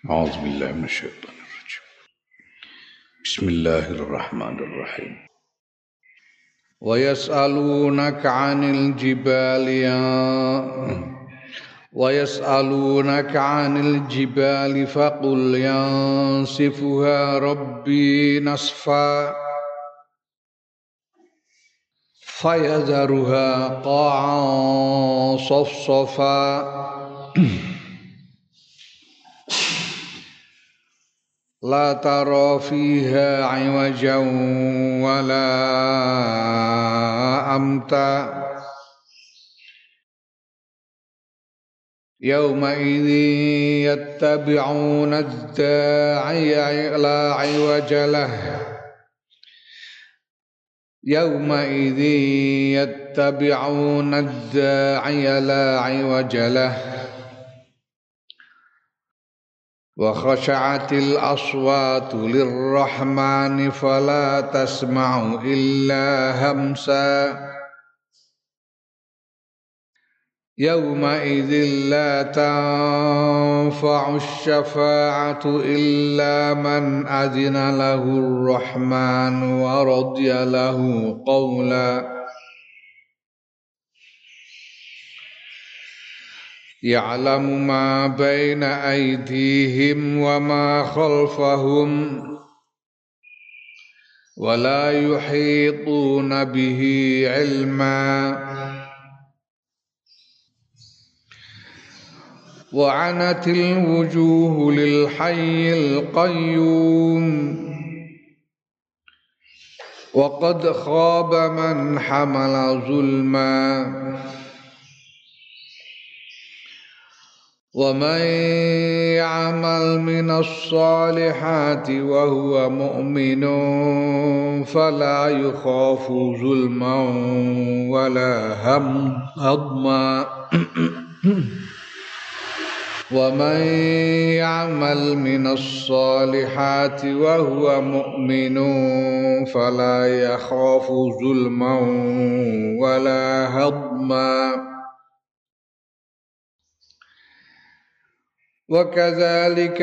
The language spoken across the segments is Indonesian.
أعوذ بالله من الشيطان الرجيم. بسم الله الرحمن الرحيم. ويسألونك عن الجبال فقل ينسفها ربي نسفا فيذرها قاعا صفصفا لا ترى فيها عوجا ولا أمتا يومئذ يتبعون الداعي لا عوج له يومئذ يتبعون الداعي لا عوج له وخشعت الأصوات للرحمن فلا تسمع إلا همسا يومئذ لا تنفع الشفاعة إلا من أذن له الرحمن ورضي له قولا يعلم ما بين أيديهم وما خلفهم ولا يحيطون به علما وعنت الوجوه للحي القيوم وقد خاب من حمل ظلما ومن يعمل من الصالحات وهو مؤمن فلا يخاف ظلما ولا هضما ومن يعمل من الصالحات وهو مؤمن فلا يخاف ظلما ولا هضما وكذلك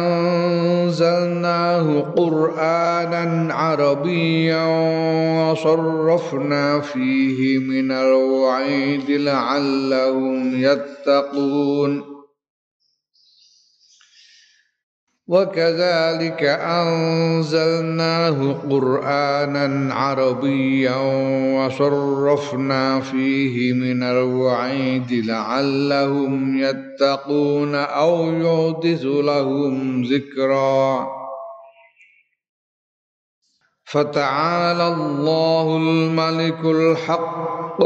أنزلناه قرآنا عربيا وصرفنا فيه من الوعيد لعلهم يتقون وكذلك أنزلناه قرآنا عربيا وصرفنا فيه من الوعيد لعلهم يتقون أو يحدث لهم ذكرا فتعالى الله الملك الحق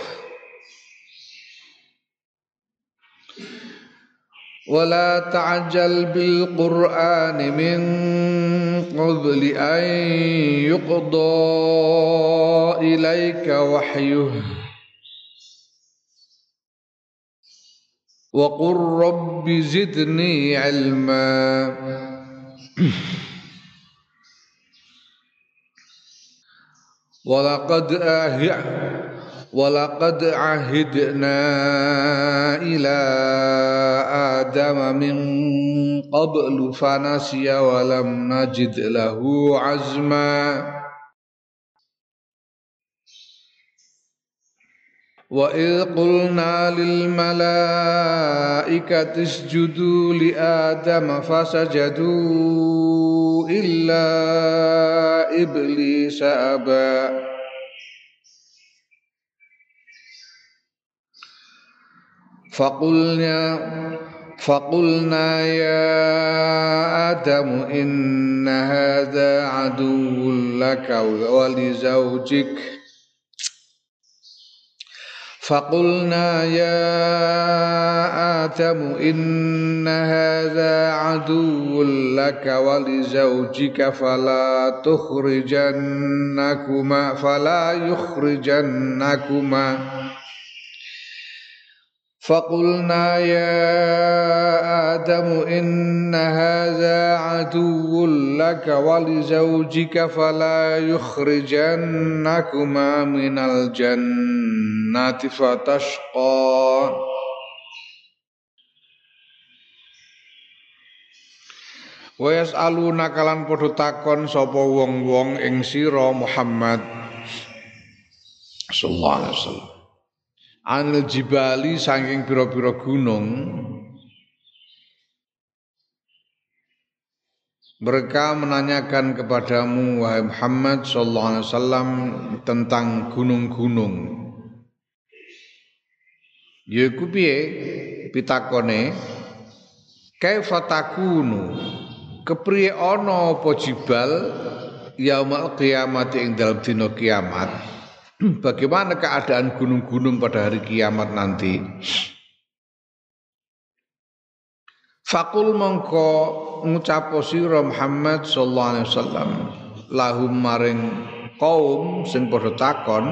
ولا تعجل بالقرآن من قبل أن يقضى إليك وحيه وقل رب زدني علما ولقد عهدنا إلى آدم من قبل فنسي ولم نجد له عزما وإذ قلنا للملائكة اسجدوا لآدم فسجدوا إلا إبليس أبى فقلنا يا آدم إن هذا عدو لك ولزوجك فقلنا يا آدم إن هذا عدو لك ولزوجك فلا يخرجنكما من الجنة فتشقى Wa yasaluna kalan padha takon sapa wong-wong ing sira Muhammad sallallahu alaihi wasallam. Anil jibali saking pira-pira gunung. Mereka menanyakan kepadamu wahai Muhammad sallallahu alaihi wasallam tentang gunung-gunung. Yaiku piye pitakone kaifa takunu kepriye ana apa jibal yaumul kiamat ing dalam dina kiamat. Bagaimana keadaan gunung-gunung pada hari kiamat nanti? Fakul mongko ngucap sira Muhammad sallallahu alaihi wasallam lahum maring kaum sing padha takon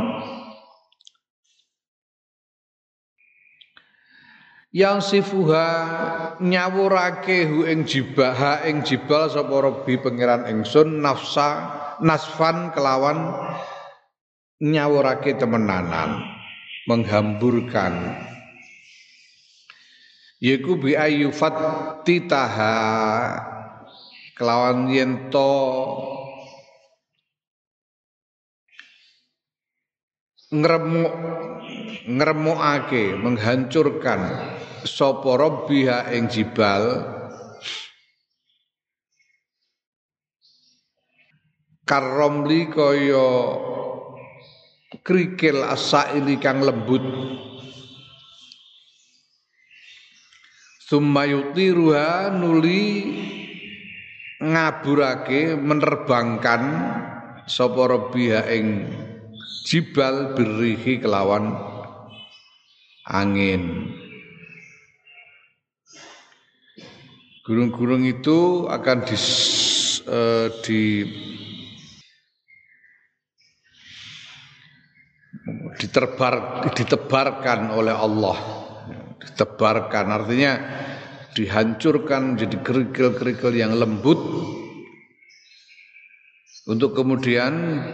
yang sifuha nyawurake hu ing jibal sapa Rabbi pangeran ingsun nasfan kelawan nyawurake temenanan menghamburkan yaiku bi ayyufat titaha kelawan yento ngremukake menghancurkan sapa rabbiha ing jibal karomli kaya krikil asaili kang lembut summa yutiruha nuli ngaburake menerbangkan sapa rabbiha ing jibal birihi kelawan angin. Gunung-gunung itu akan ditebarkan oleh Allah. Ditebarkan artinya dihancurkan menjadi kerikil-kerikil yang lembut untuk kemudian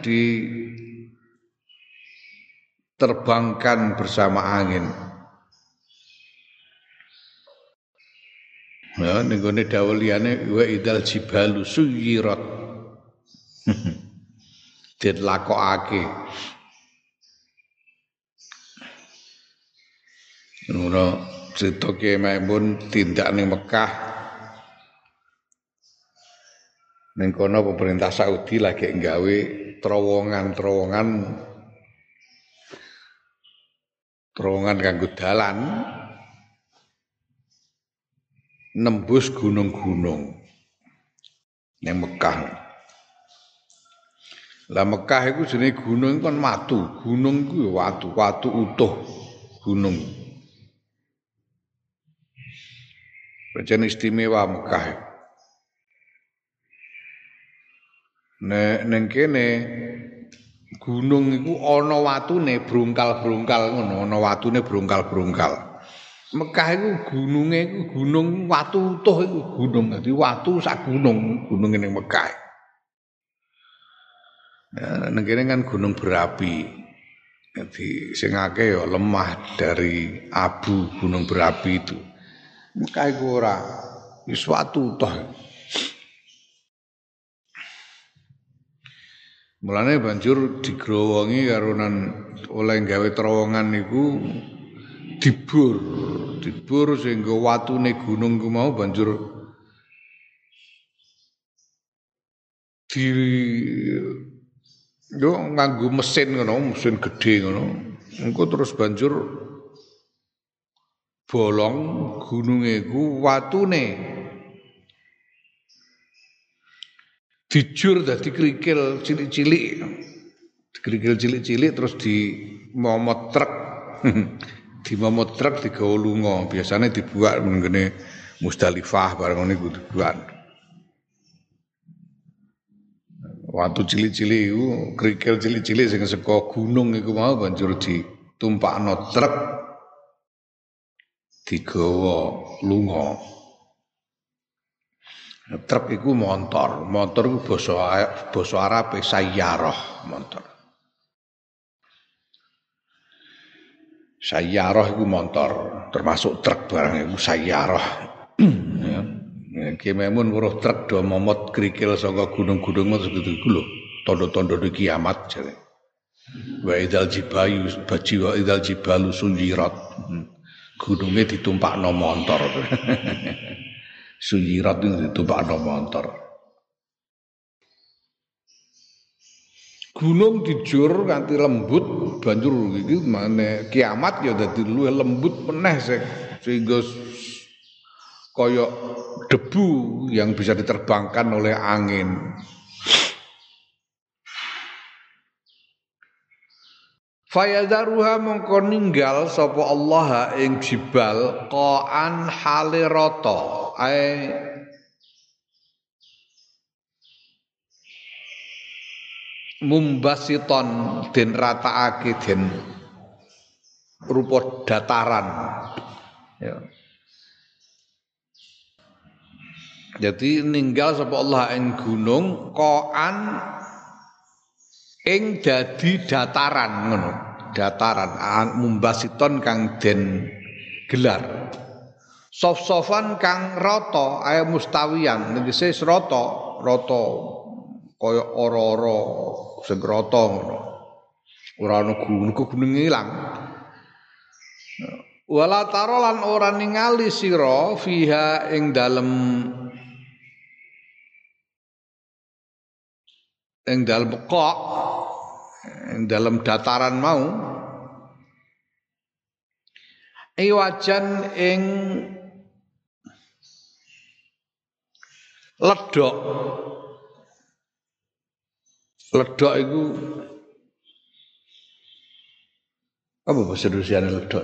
diterbangkan bersama angin. Ya, ning gone dawuh liyane wa idal jibalu suyirat. Dilakokake. Ngono cerita Kiai Maimun tindak ning Mekah. Ning kono pemerintah Saudi lagi nggawe terowongan kanggo dalan nembus gunung-gunung ning Mekah. Lah Mekah iku jenenge gunung kan watu. Gunung iku watu utuh gunung. Pancen istimewa Mekah. Nek kene gunung iku ana watune brungkal-brungkal ngono, ana watune brungkal-brungkal. Mekah iku gununge iku gunung watu utuh iku gunung. Dadi watu sak gunung ning Mekah. Ya, ning kene kan gunung berapi. Jadi sing akeh ya lemah dari abu gunung berapi itu. Mekah iku ora wis watu toh. Mulane banjur digrowongi karo oleh gawe terowongan niku dibur sehingga watune gunung ku mau banjur yo nganggo mesin gedhe ngono. Engko terus banjur bolong gununge ku watune dijur dadi kerikil cilik-cilik. Kerikil cilik-cilik terus dimomot truk. Dimomot truk digawa lunga. Biasane dibuat ngene Musdalifah bareng niku dibuat. Watu cilik-cilik iku, kerikil cilik-cilik sing saka gunung iku mau banjur ditumpakno truk digawa lunga. Truk iku montor iku basa Arab sayyarah montor. Sayyarah iku montor, termasuk truk barang iku sayyarah. Ya. Ki Maimun weruh trek do momot krikil saka gunung-gunung segitu iku lho, tanda-tanda kiamat jare. Wa idzal jibayu baji wa idzal jibalu sunjirat. Gununge ditumpakno montor. Sunjirat itu ditumpakno montor. Gunung dijur nganti lembut banjur iki mane kiamat ya dadi luwih lembut meneh sehingga kaya debu yang bisa diterbangkan oleh angin. Fayadharuha mongko ninggal sapa Allah ing jibal qaan hale rata mumbasiton den rataake den rupa dataran ya. Jadi ninggal sapa Allah ing gunung qaan ing dadi dataran ngono. Dataran mumbasiton kang den gelar. Sof-sofan kang rata ae mustawiyan tegese rata kaya ora-ora sing rata ngono. Ora ana gunung ilang. Wala tara lan ora ningali sira fiha ing dalem kok ing dalem dataran mau iwajan ing ledok iku apa bahasa Indonesiane ledok?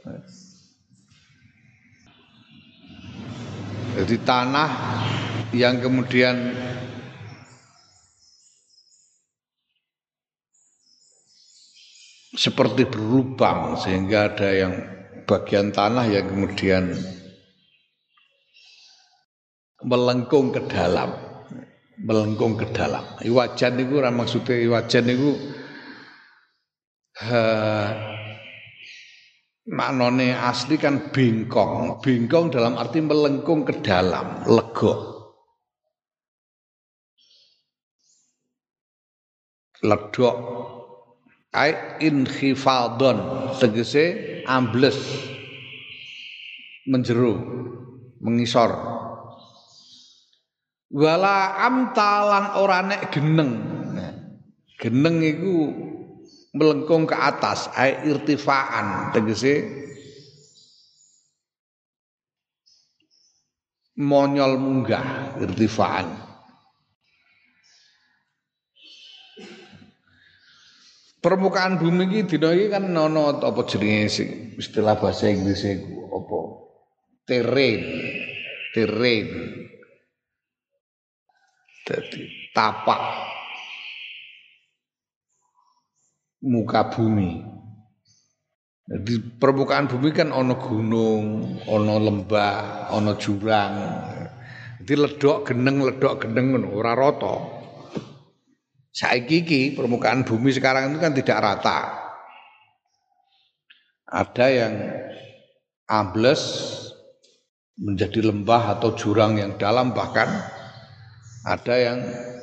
Jadi tanah yang kemudian seperti berlubang sehingga ada yang bagian tanah yang kemudian melengkung ke dalam. Iwajan niku ora maksude iwajan niku maknane asli kan bengkong. Bengkong dalam arti melengkung ke dalam, lega. Ledok ai inkhifadon tegese ambles menjero mengisor wala amtalan ora nek geneng iku melengkung ke atas ai irtifaan tegese monyol munggah irtifaan. Permukaan bumi iki dina iki kan ana apa jenenge istilah bahasa Inggris iku apa? Terrain. Dadi tapak muka bumi. Jadi permukaan bumi kan ana gunung, ana lembah, ana jurang. Jadi ledok geneng ngono ora rata. Saiki iki permukaan bumi sekarang itu kan tidak rata. Ada yang ambles menjadi lembah atau jurang yang dalam, bahkan ada yang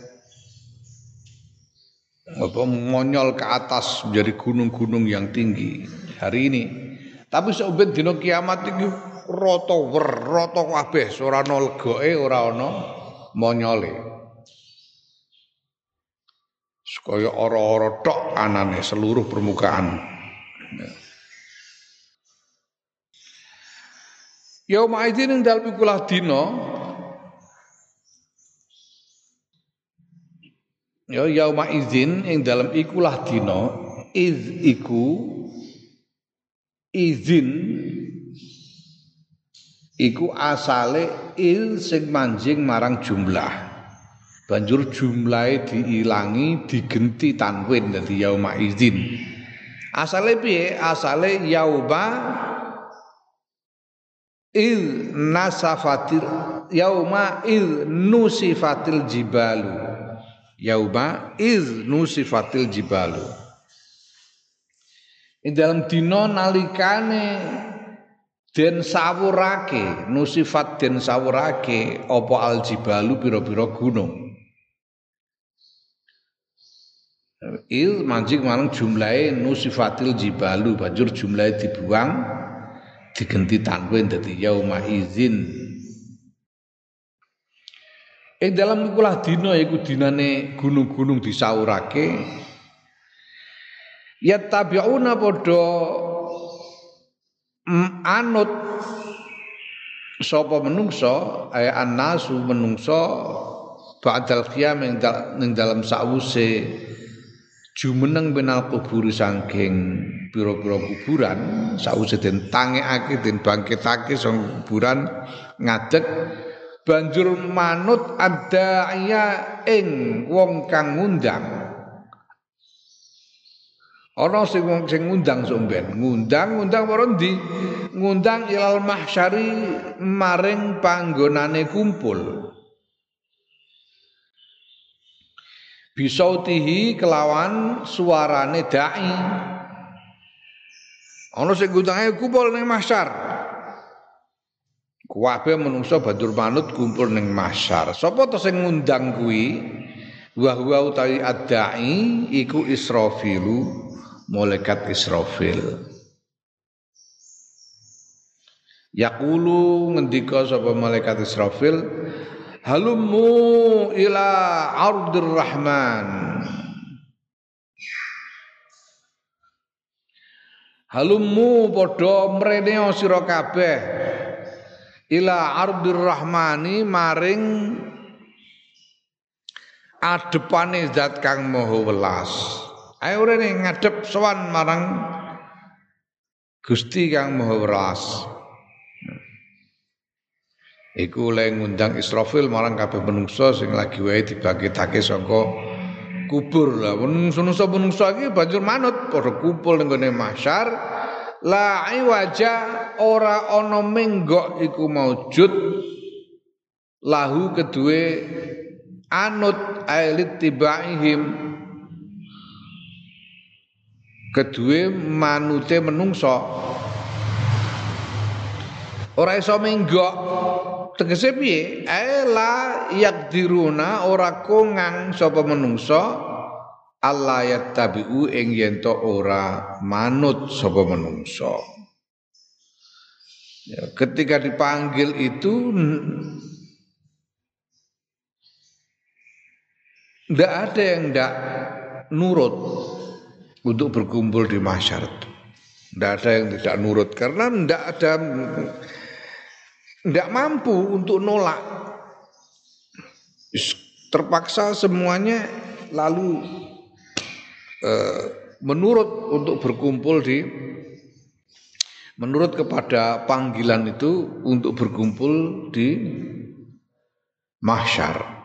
mengonyol ke atas menjadi gunung-gunung yang tinggi hari ini. Tapi saben dina kiamat iki rata kabeh, ora ana legoke, ora ana monyole. Kaya ora-ora tok anane seluruh permukaan. Yauma idzin ing dalem ikulah dina ya yauma idzin ing dalem ikulah dina izin iku asale il sing manjing marang jumlah. Banjur jumlahe diilangi digenti tanwin dadi yauma idzin. Asale piye? Asale yauma il nasafatil yauma il nusifatil jibalu. Yauma il nusifatil jibalu. Ing dalam dina nalikane den sawurake nusifat den sawurake apa aljibalu pira-pira gunung il manjing marang jumlahe nusifatil jibalu banjur jumlahe dibuang digenti tanwin dadi yauma izin ing dalam ikulah dina iku dinane gunung-gunung disaurake ya tabiuna padha anut sapa menungso ay annasu menungso ba'dal qiyam ning dalam sawuse jumeneng benal kubur saking pira-pira kuburan sawuse den tangekake den bangkitake sang kuburan ngadeg banjur manut adaya ing wong kang ngundang ana sing ngundang somben ngundang para ndi ngundang ilal mahsyari maring panggonane kumpul bisautihi kelawan suarane dai ana sing ngundang kumpul ning mahsyar kabeh menungso banjur manut kumpul ning mahsyar sapa to sing ngundang kuwi wa huwa utawi adai iku Israfilu malaikat Israfil yaqulu ngendika sapa malaikat Israfil halummu ila ardir rahman halummu padha mrene sira kabeh ila ardir rahmani maring adepane zat kang maha welas ayo rene ngadep sowan marang Gusti kang maha welas iku oleh ngundang Israfil marang kabeh menungso sing lagi wae dibangkitake saka kubur lah menungso iki banjur manut padha kumpul ning gone mahsyar la iwaja ora ana menggok iku maujud lahu kedue anut ailit tibaihim kedue manute menungso ora iso menggok tegese piye la yakdiruna ora kongang sapa menungso Allah yattabi'u ing yen to ora manut sapa menungso ya, ketika dipanggil itu ndak ada yang ndak nurut untuk berkumpul di mahsyar. Tidak ada yang tidak nurut karena tidak mampu untuk nolak. Terpaksa semuanya lalu menurut untuk berkumpul menurut kepada panggilan itu untuk berkumpul di mahsyar.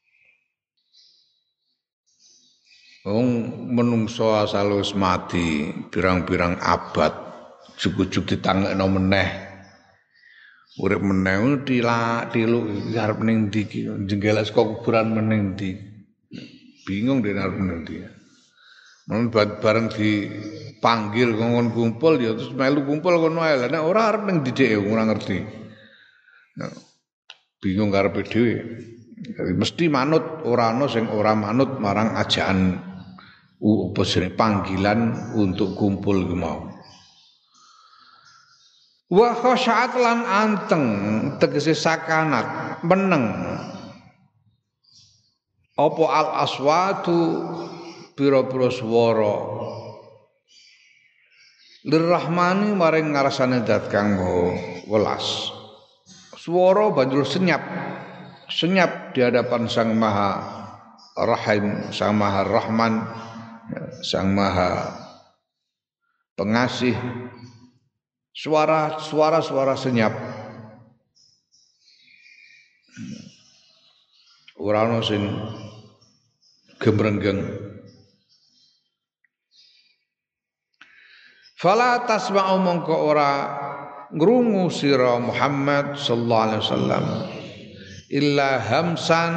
Wong menungso asal wis mati pirang-pirang abad jujuk ditangekno meneh urip meneh tiluk arep ning ndi iki jenggeles kok kuburan meneh ndi bingung dene arep ning ndi men bareng dipanggil ngomong kumpul ya terus melu kumpul kono ae lha nek ora arep ning ndi dhek ora ngerti bingung karepe dhewe mesti manut ora ana sing ora manut marang ajaan panggilan untuk kumpul ku mau. Wa khasyat lan anteng tegese sakanat meneng. Apa al aswatu pira-pira swara. Lirrahmani maring ngarsane zat kang maha welas. Swara banjur senyap di hadapan Sang Maha Rahim, Sang Maha Rahman, Sang Maha Pengasih. Suara senyap. Ora ana sing gemrenggeng. Fala tasma'u mongko ora ngrungu sira Muhammad sallallahu alaihi wasallam illa hamsan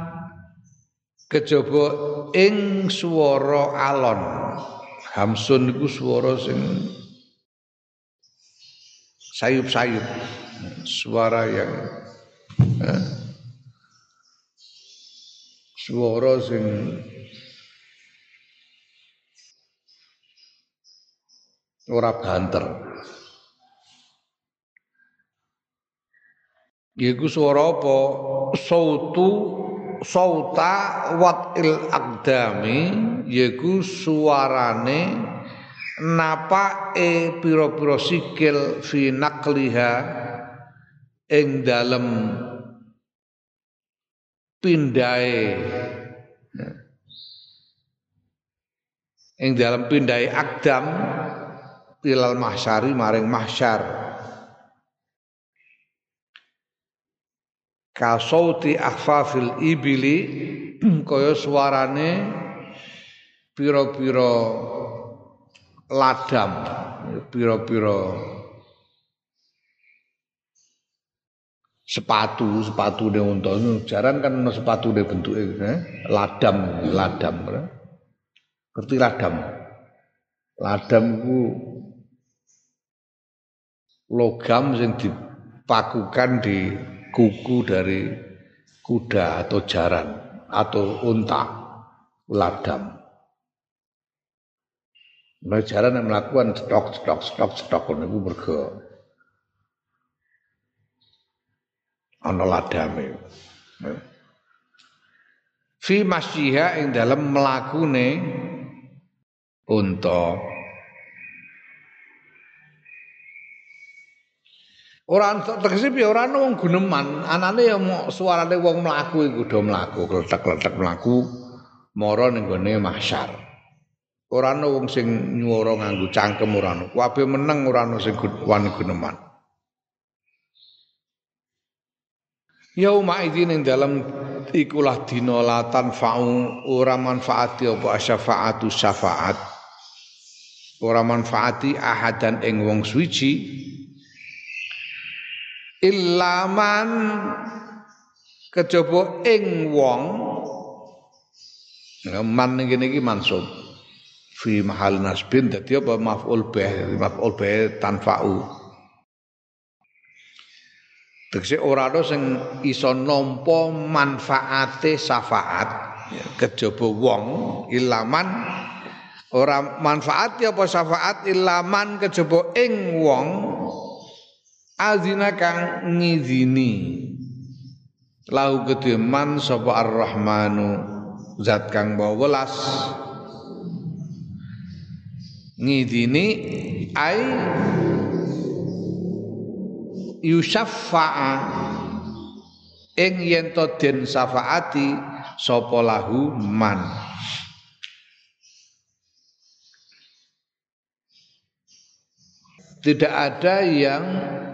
kejaba ing swara alon. Hamsun iku swara sing sayup-sayup. Suara yang suara sing ora banter. Iku suara apa? Sauta watil aqdami, yaiku suarane napake pira-pira sikil fi naqliha ing dalem pindahe aqdam ilal mahsyari maring mahsyar. Kasauti akhfafil ibili kaya suarane pira-pira ladam, pira-pira sepatu unta jaran kan ana sepatune bentuke ladam. Ngerti ladam? Ladam iku logam sing dipakukan di kuku dari kuda atau jaran atau unta, ladam. Nah, jaran yang melakukan stok niku mergo ana ladame. Fi masyiha ing dalem mlakune unta. Ora tegese piye ora ana wong guneman, anane ya suarane wong mlaku iku do mlaku, kletek-kletek mlaku mara ning gone mahsyar. Ora ana wong sing nyuwara nganggo cangkem ora ana. Kabeh meneng ora ana sing wani guneman. Yauma idzin ing dalem ikulah dina la tanfa'u ora manfaati apa syafaatu syafaat. Ora manfaati ahadan ing wong suci illaman kejaba ing wong man ngene iki mansub fi mahal nasbin dadi apa maf'ul bih tanfa'u tegese ora ana sing iso nampa manfaate syafaat kejaba wong illaman ora manfaat apa syafaat illaman kejaba ing wong azina kang ngizini lahu kedhe man sapa ar-rahmanu zat kang maha welas ngizini ai yusaffa'a ing yen to den syafaati sapa lahu man. Tidak ada yang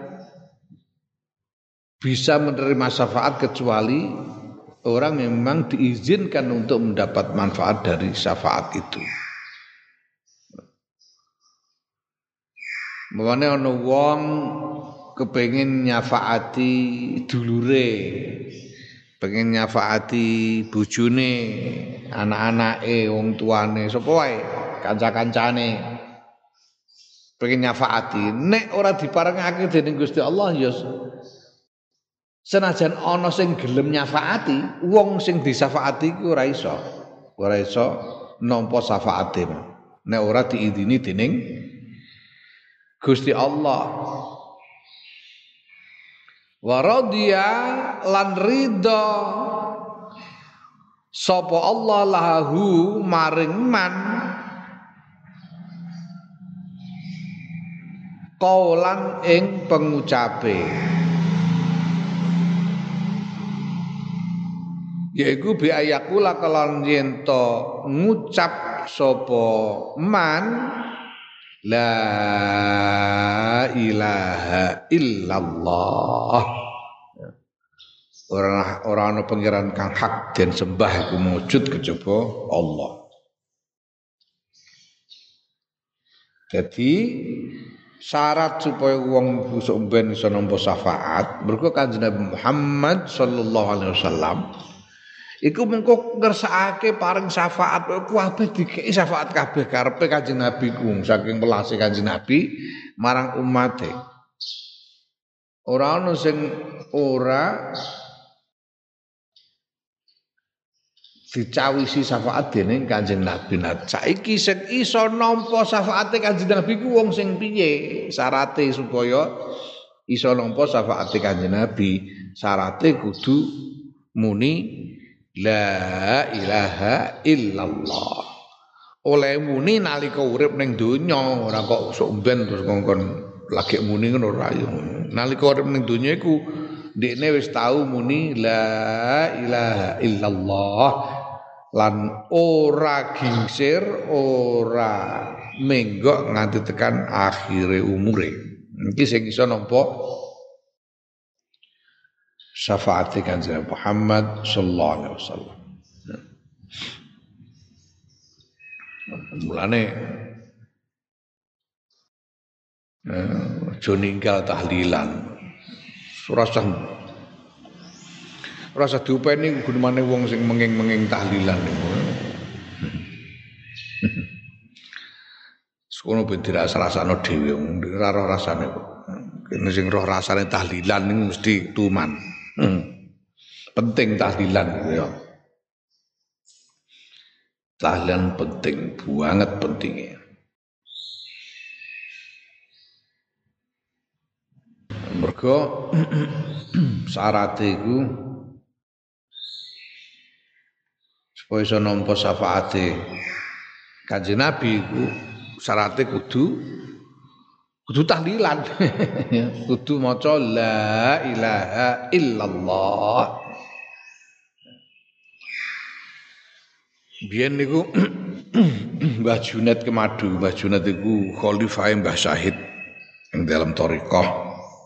bisa menerima syafaat kecuali orang yang memang diizinkan untuk mendapat manfaat dari syafaat itu. Makanya ana wong kepengin nyafaati dulure, pengen nyafaati bojone, anak-anake, wong tuane, sapa wae, kanca-kancane. Pengen nyafaati, nek ora diparengake dening Gusti Allah ya senajan ana sing gelem nyafaati, wong sing disyafaati iku ora iso nampa syafaate. Nek ora diidini dening Gusti Allah. Wa radiya lan ridha sapa Allah lahu maring man qaulan ing pengucape. Yaiku bi ayakula kelon yen to ngucap sapa man la ilaha illallah. Ora ana pangeran kang hak den sembah iku mujud kejaba Allah. Jadi syarat supaya wong busuk ben iso nampa syafaat mergo Kanjeng Nabi Muhammad sallallahu alaihi wasallam iku mengko ngersakake paring syafaat kabeh dikeki syafaat kabeh karepe Kanjeng Nabi ku saking welase Kanjeng Nabi marang umate. Ora ana sing ora dicawisi syafaat dening Kanjeng Nabi. Nah, saiki sing iso nampa syafaate Kanjeng Nabi ku wong sing piye? Syarate supaya iso nampa syafaate Kanjeng Nabi, syarate kudu muni la ilaha illallah. Oleh muni nalika urip ning donya, ora kok sok mben terus ngongkon lagi muni ngono ora ya. Nalika urip ning donya iku ndekne wis tau muni la ilaha illallah lan ora gingsir, ora menggok nganti tekan akhire umure. Iki sing iso nampa syafaate Kanjeng Muhammad sallallahu alaihi wasallam. Mulane aja ninggal tahlilan. Rasa diupeni gunane wong sing menging-menging tahlilan niku. Sekono ben dirasa-rasano dhewe wong ora roh rasane kok. Kene sing roh rasane tahlilan niku mesti tuman. Penting tahlilan gitu ya. Tahlilan penting, banget pentingnya. Mergo syarate iku supaya iso nampa syafaate Kanjeng Nabi iku syarate kudu tahlilan. Kudu maca la ilaha illallah. Biyen niku Mbah Junaid Kemadu, Mbah Junaid iku khalifah Mbah Syahid yang dalam thariqah.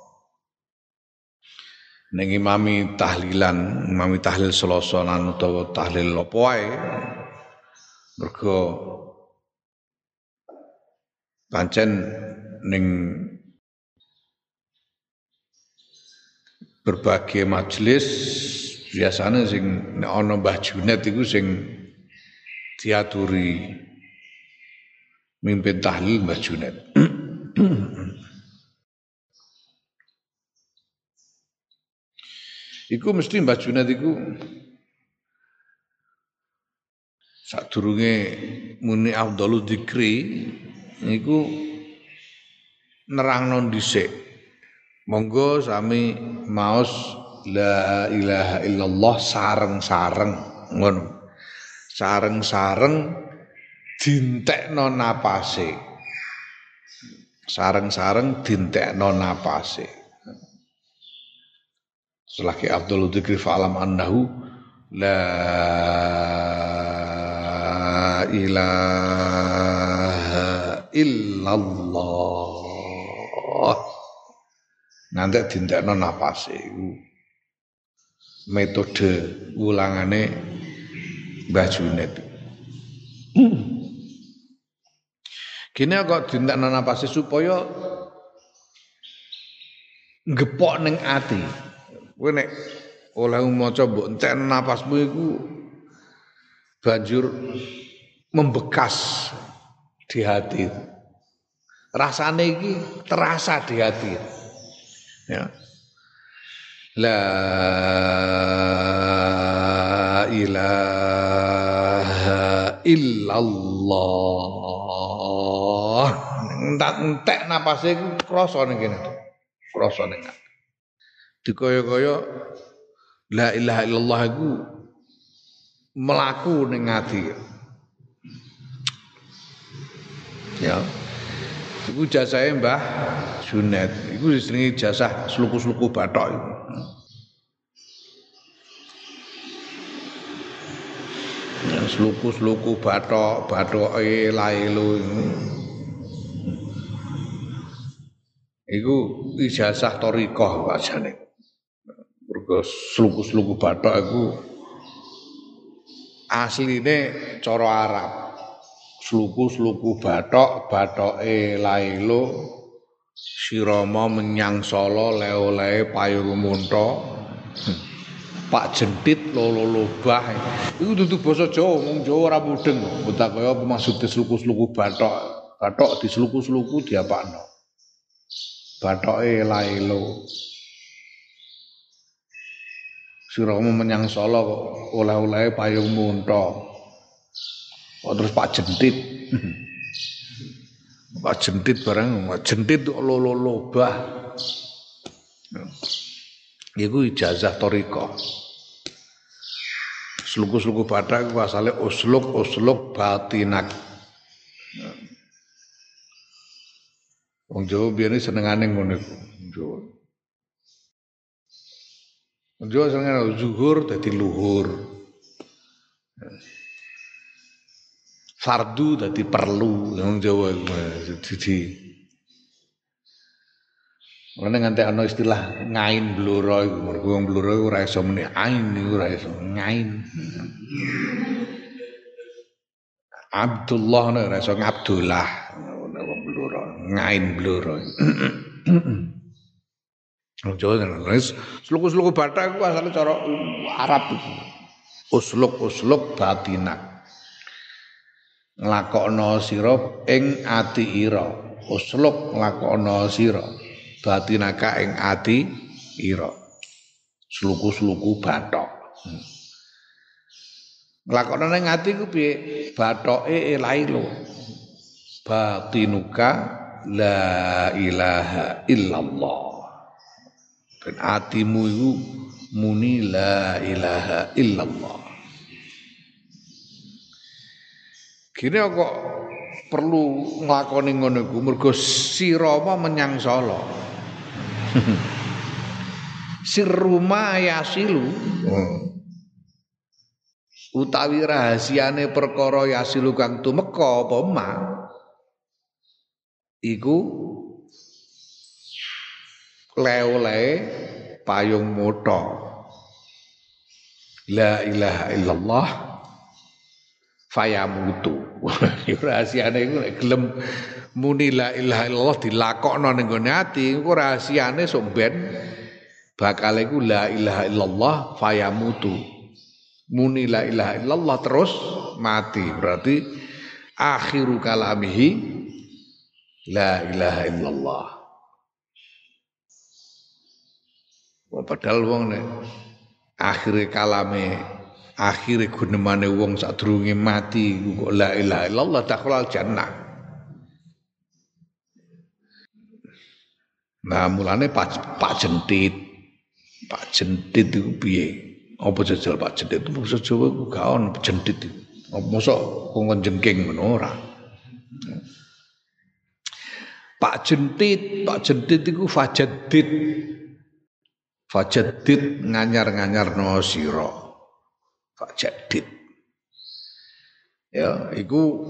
Ning imami tahlilan, imami tahlil Selasa lan utawa tahlil apa wae. Mergo pancen ning berbagai majelis biasanya sing nek ana Mbah Junaid iku sing diaturi mimpin tahlil Mbah Junaid. Iku mesti Mbah Junaid iku sadurunge muni afdhalu dzikri niku nerangno dhisik. Monggo sami maos la ilaha illallah sareng-sareng ngono. Sareng-sareng dintekno napase. Sareng-sareng dintekno napase. Selagi Abdul Dzikri fa'alam annahu la ilaha illallah. Nanti dintekno napase iku metode ulangane Mbah Junaid. Kene kok dintekno napase supaya ngepok ning ati. Kowe nek oleh maca mbok entekno napasmu iku banjur membekas di hati. Rasane iki terasa di hati. Ya. La ilaha illallah. Entek napase iku krasa ning kene. Krasa ning ati. Dikaya-kaya la ilaha illallah iku melaku ning ati. Ya. Iku jasahe Mbah Junaid. Iku disenengi jasah sluku-sluku bathok iku. Ya, sluku-sluku bathok, bathoke lailo iku ijazah thariqah wajane. Mergo sluku-sluku bathok iku asline cara Arab. Sluku-sluku bathok, bathoke lailo, sirama menyang Solo, le-olehe payung munta, Pak Jentit lolo lobah. Iku dudu basa Jawa, wong Jawa ora mudeng. Mbok kaya apa maksude sluku-sluku bathok. Bathok disluku-sluku diapakno. Bathoke lailo. Siramu menyang Solo kok oleh-oleh payungmu entok. Kok terus Pak Jentit. Pak Jentit barang, Pak Jentit lobah. Iku ijazah thariqah. Sluku-sluku Batak iku asale usluk batinak. Wong Jawa biyen senengane ngono iku. Jawa senengane zuhur dadi luhur. Fardu dadi perlu wong Jawa iku dadi. Ana nganti ana istilah ngain bloro iku mergo wong bloro iku ora iso muni ain iku ora iso ngain. Abdullah ora iso ngabdullah wong bloro ngain bloro. Wong Jawa sluku-sluku Batak iku asale cara Arab iku. Usluk batinak. Nglakokno sira ing ati ira. Usluk nglakokno sira batinaka ing ati ira. Sluku-sluku Batak. Nglakokno ning ati ku piye? Bathoke ilailo. Batinuka la ilaha illallah. Ben atimu iku muni la ilaha illallah. Kene kok perlu nglakoni ngono iku mergo sira menyang Solo. Sirruma yasilu. Utawi rahasiane perkara yasilu kang tumeka apa ma iku le-ole payung motho. La ilaha illallah fayamutu. Rahasiane iku nek gelem muni la ilaha illallah dilakokno ning gone ati, iku rahasiane sok ben bakal iku la ilaha illallah fayamutu. Muni la ilaha illallah terus mati. Berarti akhiru kalamihi la ilaha illallah. Padahal wong nek akhire kalame, akhire gunemane wong sadurunge mati kok la ilaha illallah dakhalal jannah. Nah, mulane Pak Jentit iku piye? Apa jajal Pak Jentit itu basa Jawa ku gak ono jentit iku. Apa mosok kongkon jengking ngono ora. Pak Jentit iku Fajaddid nganyar-nganyarno sira. Fajaddid. Ya, iku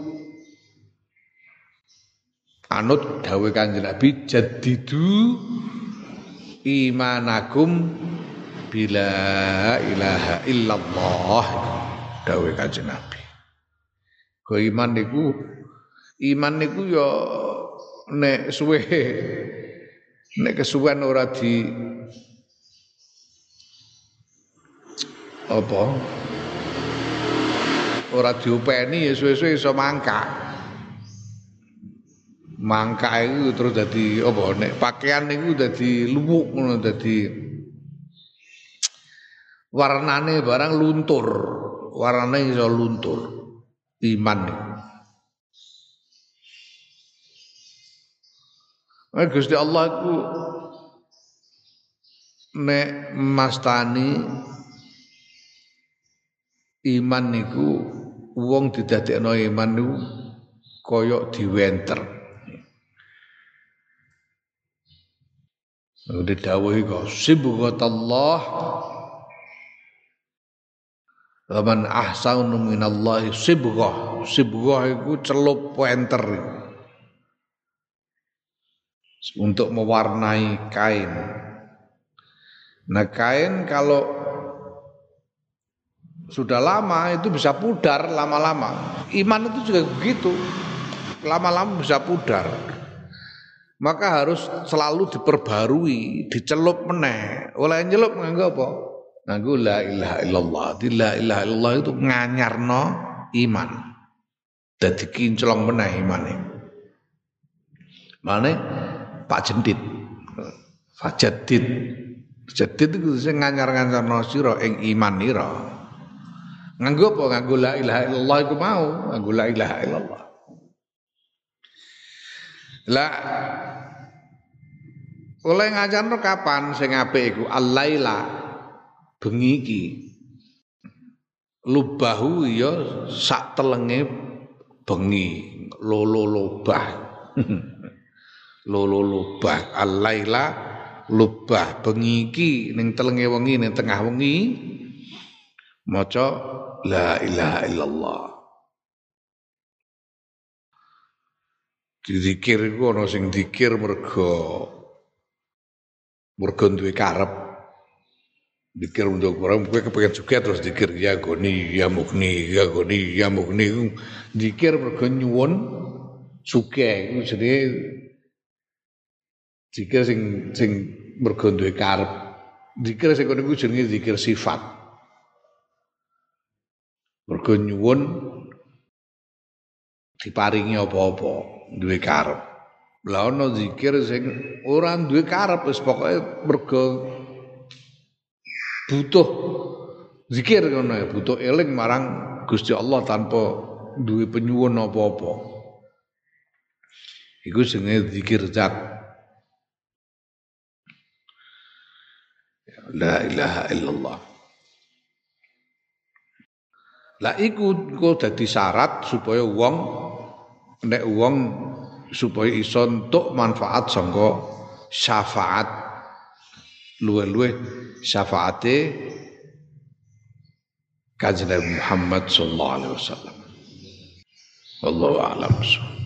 anut dawuh Kanjeng Nabi jaddidu imanakum bila ilaha illallah dawuh Kanjeng Nabi. Go iman niku ya nek suwe nek kesuwen ora di apa ora diopeni ya suwe-suwe iso mangkak iku terus dadi apa nek pakaian niku dadi luwuk ngono dadi warnane barang luntur warnane iso luntur iman niku. Gusti Allah iku nek mastani iman niku wong didadekno iman niku kaya diwenter. Didhawuhi kok sibghatallah wa man ahsanu minallahi sibghah. Sibghah iku celup wenter untuk mewarnai kain. Nah, kain kalau sudah lama itu bisa pudar lama-lama. Iman itu juga begitu. Lama-lama bisa pudar. Maka harus selalu diperbarui, dicelup meneh. Oleh nyelup nganggo apa? Nganggo la ilaha illallah. La ilaha illallah itu nganyarno iman. Dadi kinclong meneh imane. Mane Pak Jentit. Fajaddid Tajdid iku sing nganyar-nganyarno sira ing iman ira. Nganggo apa? Nganggo la ilaha illallah iku mau, nganggo la ilaha illallah. Lah oleh ngajarno kapan sing apik iku al-laila bengi iki. Lubahu ya sak telenge bengi, lolo lobah. Lolo lobah al-laila lubah bengi iki ning telenge wengi ning tengah wengi maca la ilaha illallah. Dizikir iku ana sing zikir mergo duwe karep. Zikir untuk orang kowe kepengin juga terus zikir ya goni ya mukni ya goni ya mukni. Zikir mergo nyuwun sugih iku jenenge zikir sing mergo duwe karep. Zikir sing kono iku jenenge zikir sifat. Mergo nyuwun diparingi apa-apa, duwe karep. Lah ana zikir sing ora duwe karep wis pokoke mergo butuh zikir ngono ya, butuh eling marang Gusti Allah tanpa duwe penyuwun apa-apa. Iku jenenge zikir zat. La ilaha illallah. Lah iku dadi syarat supaya nek wong supaya iso entuk manfaat sangka syafaat luwe-luwe syafaate Kanjeng Muhammad sallallahu alaihi wasallam. Wallahu a'lam.